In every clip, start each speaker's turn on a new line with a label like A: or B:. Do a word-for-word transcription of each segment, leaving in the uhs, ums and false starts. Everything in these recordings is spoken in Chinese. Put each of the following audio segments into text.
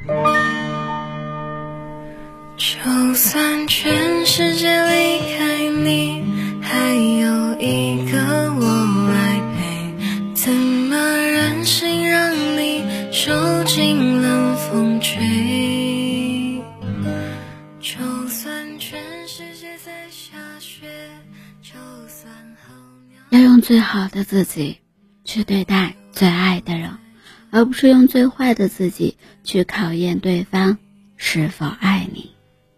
A: 就算全世界离开你，还有一个我来陪，怎么忍心让你受尽冷风吹？就算全世界在下雪，就算候鸟
B: 要用最好的自己去对待最爱的人，而不是用最坏的自己去考验对方是否爱你。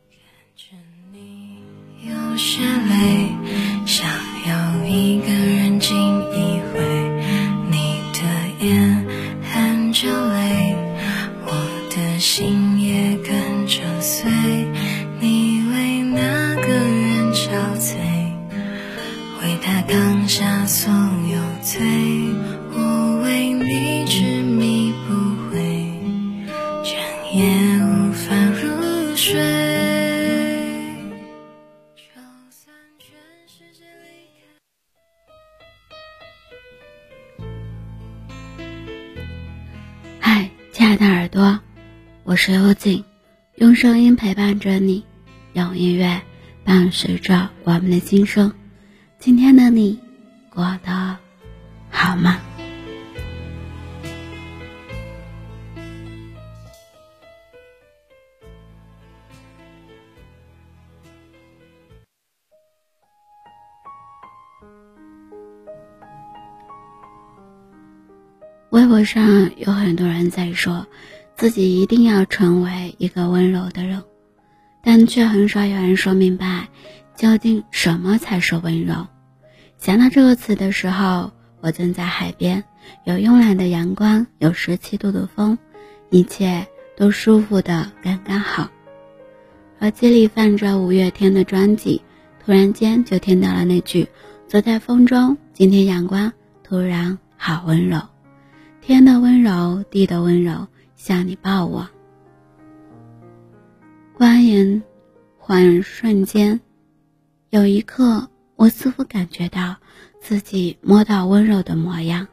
A: 有些累，想要一个人静一回，你的眼含着泪，我的心也跟着碎，你为那个人憔悴，为他扛下所有罪，我为你执迷不悔，整夜无法入睡。
B: 嗨，亲爱的耳朵，我是幽静，用声音陪伴着你，用音乐伴随着我们的心声。今天的你过得好吗？微博上有很多人在说自己一定要成为一个温柔的人，但却很少有人说明白究竟什么才是温柔。想到这个词的时候，我正在海边，有慵懒的阳光，有十七度的风，一切都舒服的刚刚好。耳机里放着五月天的专辑，突然间就听到了那句走在风中，今天阳光突然好温柔，天的温柔，地的温柔，像你抱我。光影缓瞬间，有一刻我似乎感觉到自己摸到温柔的模样。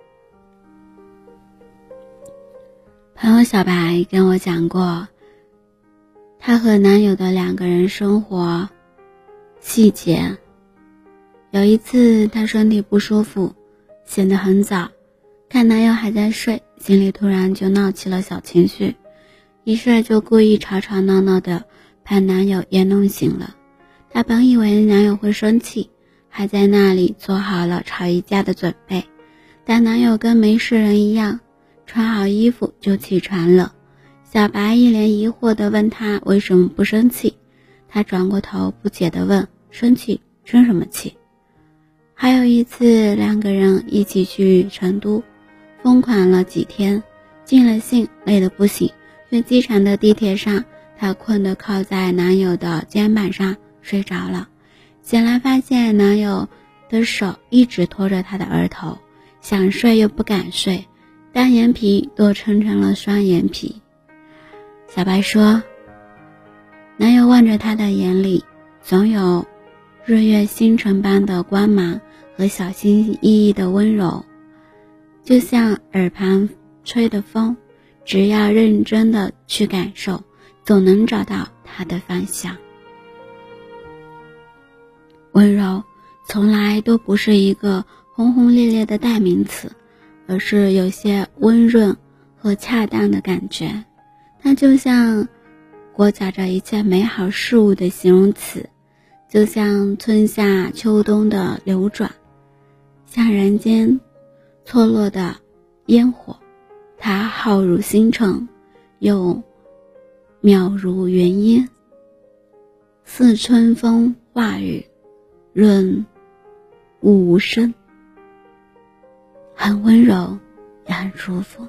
B: 朋友小白跟我讲过她和男友的两个人生活细节。有一次她身体不舒服，醒得很早，看男友还在睡，心里突然就闹起了小情绪，于是就故意吵吵闹闹的把男友也弄醒了。她本以为男友会生气，还在那里做好了吵一架的准备，但男友跟没事人一样，穿好衣服就起床了。小白一脸疑惑地问他为什么不生气，他转过头不解地问，生气生什么气？还有一次两个人一起去成都疯狂了几天，尽了兴，累得不行，去机场的地铁上，她困得靠在男友的肩膀上睡着了，醒来发现男友的手一直拖着她的额头，想睡又不敢睡，单眼皮都撑成了双眼皮。小白说，男友望着她的眼里总有日月星辰般的光芒和小心翼翼的温柔，就像耳旁吹的风，只要认真的去感受，总能找到它的方向。温柔从来都不是一个轰轰烈烈的代名词，而是有些温润和恰当的感觉。它就像裹挟着一切美好事物的形容词，就像春夏秋冬的流转，像人间错落的烟火，它浩如星辰，又渺如云烟，似春风化雨，润物无声，很温柔也很舒服。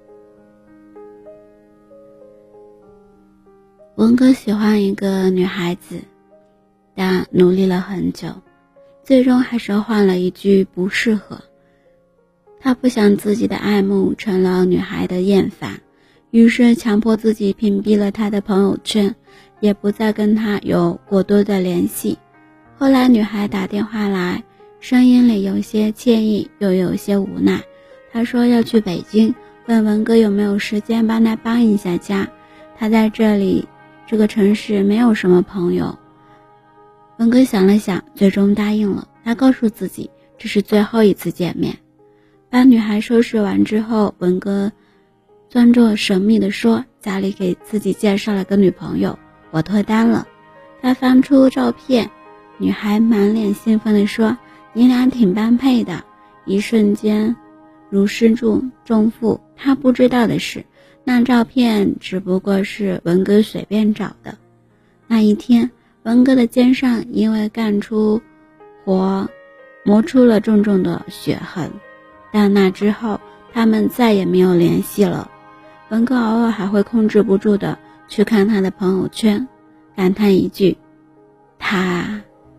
B: 文哥喜欢一个女孩子，但努力了很久，最终还是换了一句不适合。他不想自己的爱慕成了女孩的厌烦，于是强迫自己屏蔽了她的朋友圈，也不再跟她有过多的联系。后来女孩打电话来，声音里有些歉意又有些无奈。她说要去北京，问文哥有没有时间帮她搬一下家。 他在这里这个城市没有什么朋友。文哥想了想，最终答应了。他告诉自己这是最后一次见面。把女孩收拾完之后，文哥装作神秘地说，家里给自己介绍了个女朋友，我脱单了。他翻出照片，女孩满脸兴奋地说，你俩挺般配的。一瞬间如释重重负。他不知道的是，那照片只不过是文哥随便找的。那一天，文哥的肩上因为干出活磨出了重重的血痕，但那之后他们再也没有联系了。文哥偶尔还会控制不住的去看他的朋友圈，感叹一句，他。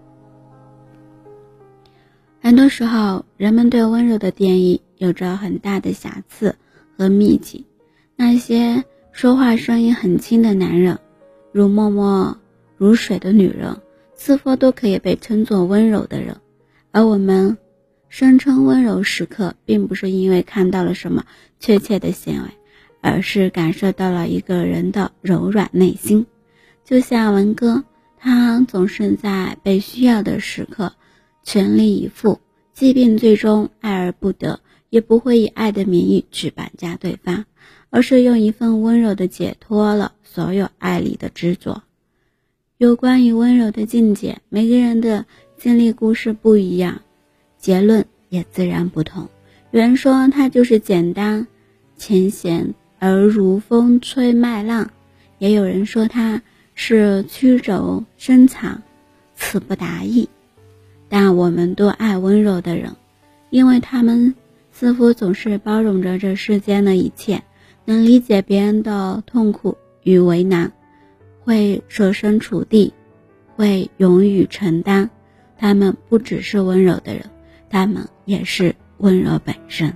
B: 很多时候，人们对温柔的定义有着很大的瑕疵和秘籍。那些说话声音很轻的男人，如默默如水的女人，似乎都可以被称作温柔的人。而我们声称温柔时刻，并不是因为看到了什么确切的行为，而是感受到了一个人的柔软内心。就像文哥，他总是在被需要的时刻全力以赴，即便最终爱而不得，也不会以爱的名义去绑架对方，而是用一份温柔的解脱了所有爱里的执着。有关于温柔的境界，每个人的经历故事不一样，结论也自然不同。有人说它就是简单浅显而如风吹麦浪，也有人说它是曲轴深藏词不达意。但我们都爱温柔的人，因为他们似乎总是包容着这世间的一切，能理解别人的痛苦与为难，会设身处地，会勇于承担。他们不只是温柔的人，他们也是温柔本身。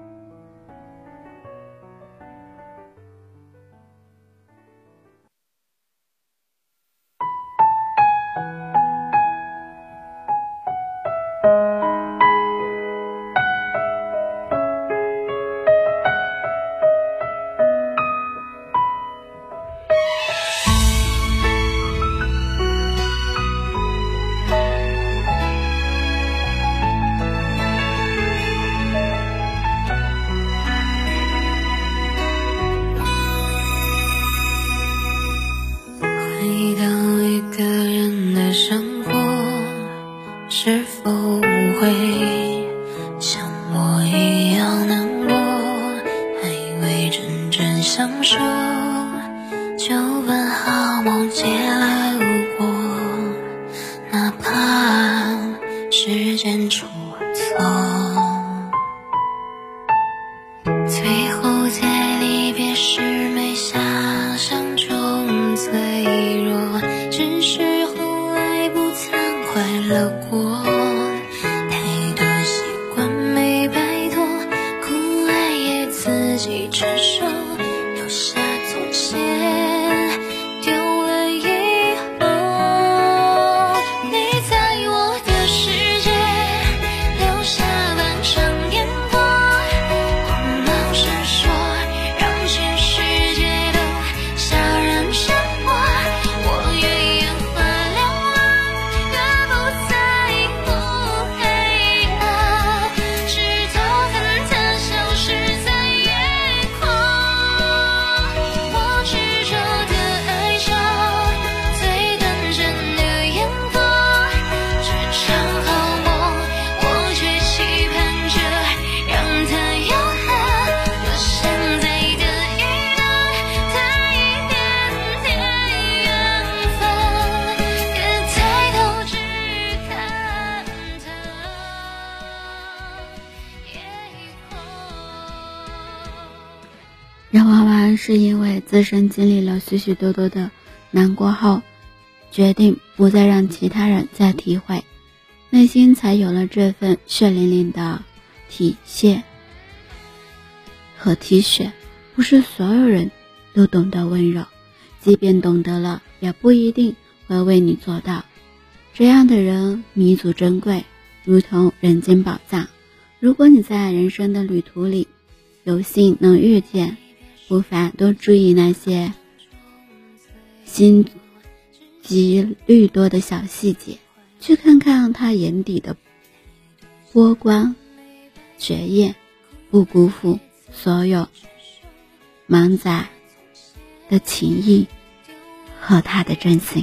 A: 回到一个人的生活，是否会像我一样难过？还未真正享受，就分好梦借来无果，哪怕时间出错。最后在离别时没想象中脆弱，只是后来不曾快乐过，太多习惯没摆脱，苦爱也自己承受，留下从前丢了以后，你在我的世界留下半生烟火，光芒闪烁，让全世界都悄然沉默。我越眼花缭乱，越不在乎黑暗，直到看它消失在夜空。我执着的爱着最短暂的烟火，这场好梦我却期盼着让它永恒。我现在的一段它一点点养分，别抬头只看它夜空。
B: 人往往是因为自身经历了许许多多的难过后，决定不再让其他人再体会，内心才有了这份血淋淋的体恤和体恤。不是所有人都懂得温柔，即便懂得了，也不一定会为你做到。这样的人弥足珍贵，如同人间宝藏。如果你在人生的旅途里有幸能遇见，不妨多注意那些心机虑多的小细节，去看看他眼底的波光绝艳，不辜负所有满载的情谊和他的真心。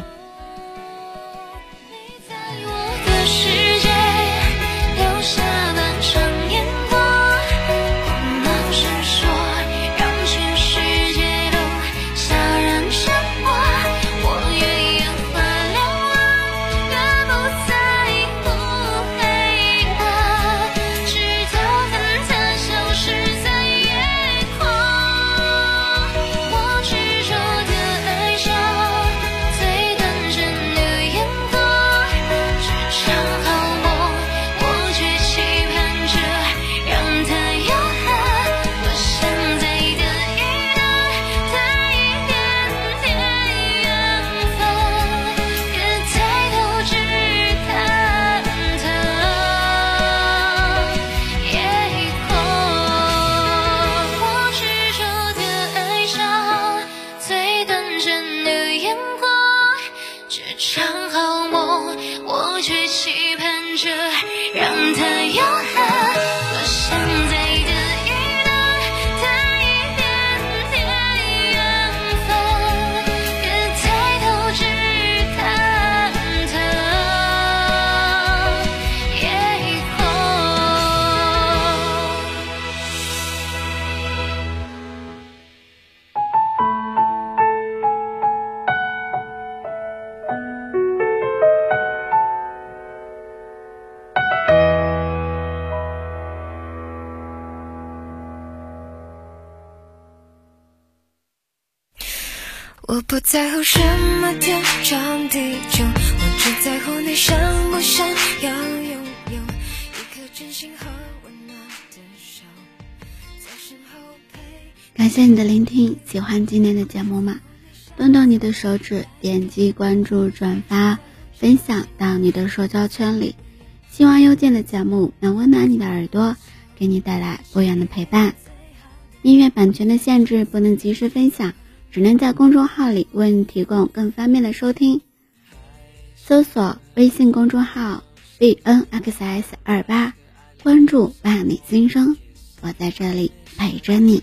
A: 我不在乎什么天长地久，我只在乎你想不想要拥有一颗真心和温暖的手，在身后陪。
B: 感谢你的聆听，喜欢今天的节目吗？动动你的手指，点击关注、转发、分享到你的社交圈里。希望邮件的节目能温暖你的耳朵，给你带来不一样的陪伴。音乐版权的限制，不能及时分享，只能在公众号里为你提供更方便的收听。搜索微信公众号 B N X S 二八，关注伴你心声，我在这里陪着你。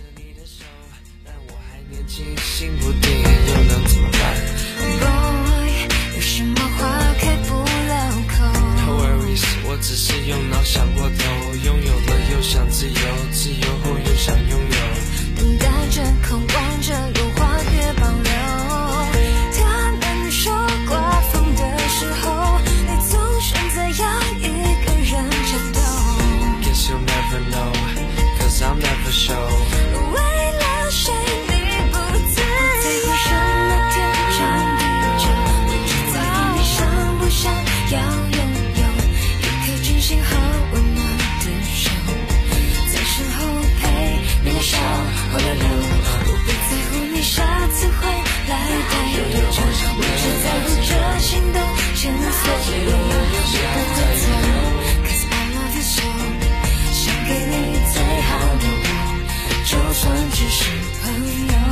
A: 心不定又能怎么办 Boy， 有什么话开不了口 No worries， 我只是用脑想过头，拥有了又想自由，自由后又想拥有，等待着渴望着有话别保留。他们说刮风的时候你总选择要一个人战斗 Guess you'll never know Cause I'll never show 为了谁要拥有一颗真心和温暖的手，在身后陪你的笑和流流。我不在乎你下次会来带多久，我只在乎这心动前所未有。我不会走 Cause I love you so， 想给你最好的我，就算只是朋友。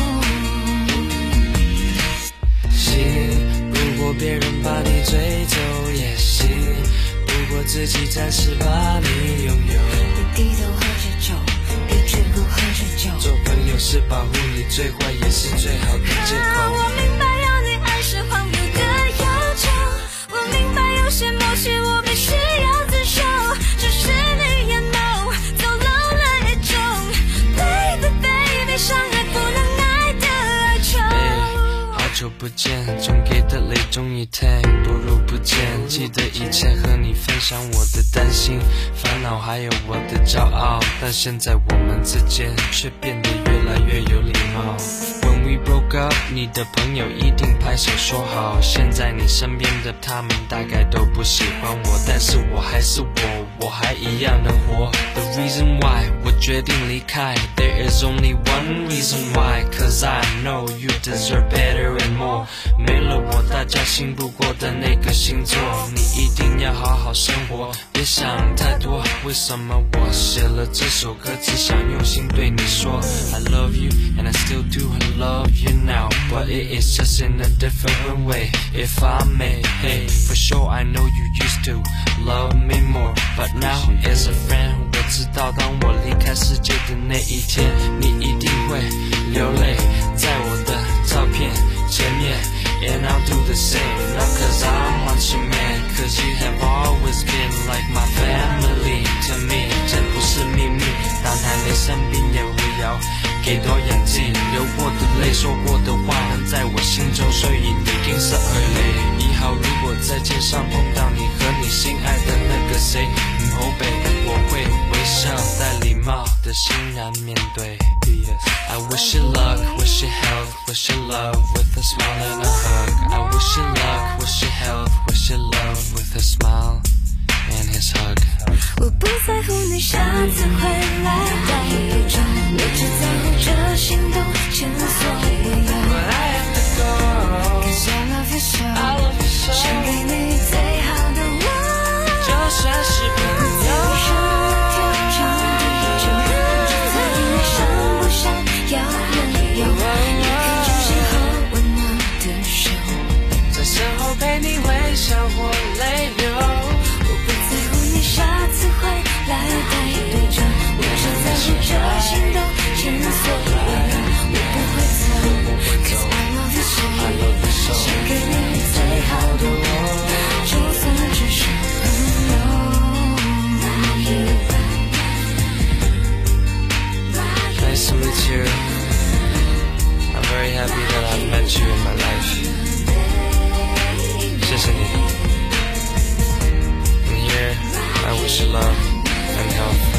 A: 如果别人把你追走也行，如果自己暂时把你拥有，别低头喝着酒，别只顾喝着酒，做朋友是保护你，最坏也是最好的借口。我明白要你爱是荒谬的要求，我明白有些默契我必须要自首，只是你也 know 走漏了一种 Baby baby 相爱不能爱的哀愁。好久不见，总给的泪终于停，多如不见。记得以前和你分享我的担心、烦恼，还有我的骄傲，但现在我们之间却变得越来越有礼貌。When we broke up， 你的朋友一定拍手说好，现在你身边的他们大概都不喜欢我，但是我还是我，我还一样的活。The reason why 我决定离开 There is only one reason why Cause I know you deserve better and more， 没了我大家信不过的那个星座，你一定要好好生活，别想太多。为什么我写了这首歌，只想用心对你说 I love you and I still do love you now，
C: but it is just in a different way. If I may, hey, for sure I know you used to love me more, but now as a friend, 我知道当我离开世界的那一天，你一定会流泪在我的照片前面。And I'll do the same, not cause I want you man, cause you have always been like my family to me. 这不是秘密，当还没生病也不要给多氧气，流过的泪说过的话能在我心中所以你金色而泪。以后如果在街上碰到你和你心爱的那个谁，嗯后背我会微笑带礼貌的欣然面对。I wish you luck, wish you health, wish you love with a smile and a hug. I wish you luck, wish you health, wish you love with a smile and his hug.
A: 我不在乎你下次回来带多久，我只在乎这心动前所未有。
C: But I have to go,
A: Cause I love you so,
C: I love you so.
A: 想给你最好的我，
C: 就算是朋友。
A: 要拥有，一颗真心和温暖的手，
C: 在身后陪你微笑或泪流。
A: 我不在乎你下次会来待多久，我只在乎这心动前所未有。我不会走 ，Cause I love you so， 想给你最好的我，就算只是朋友。
C: Nice to meet you. I'm very happy that I've met you in my life. 谢谢你。And here, I wish you love and health.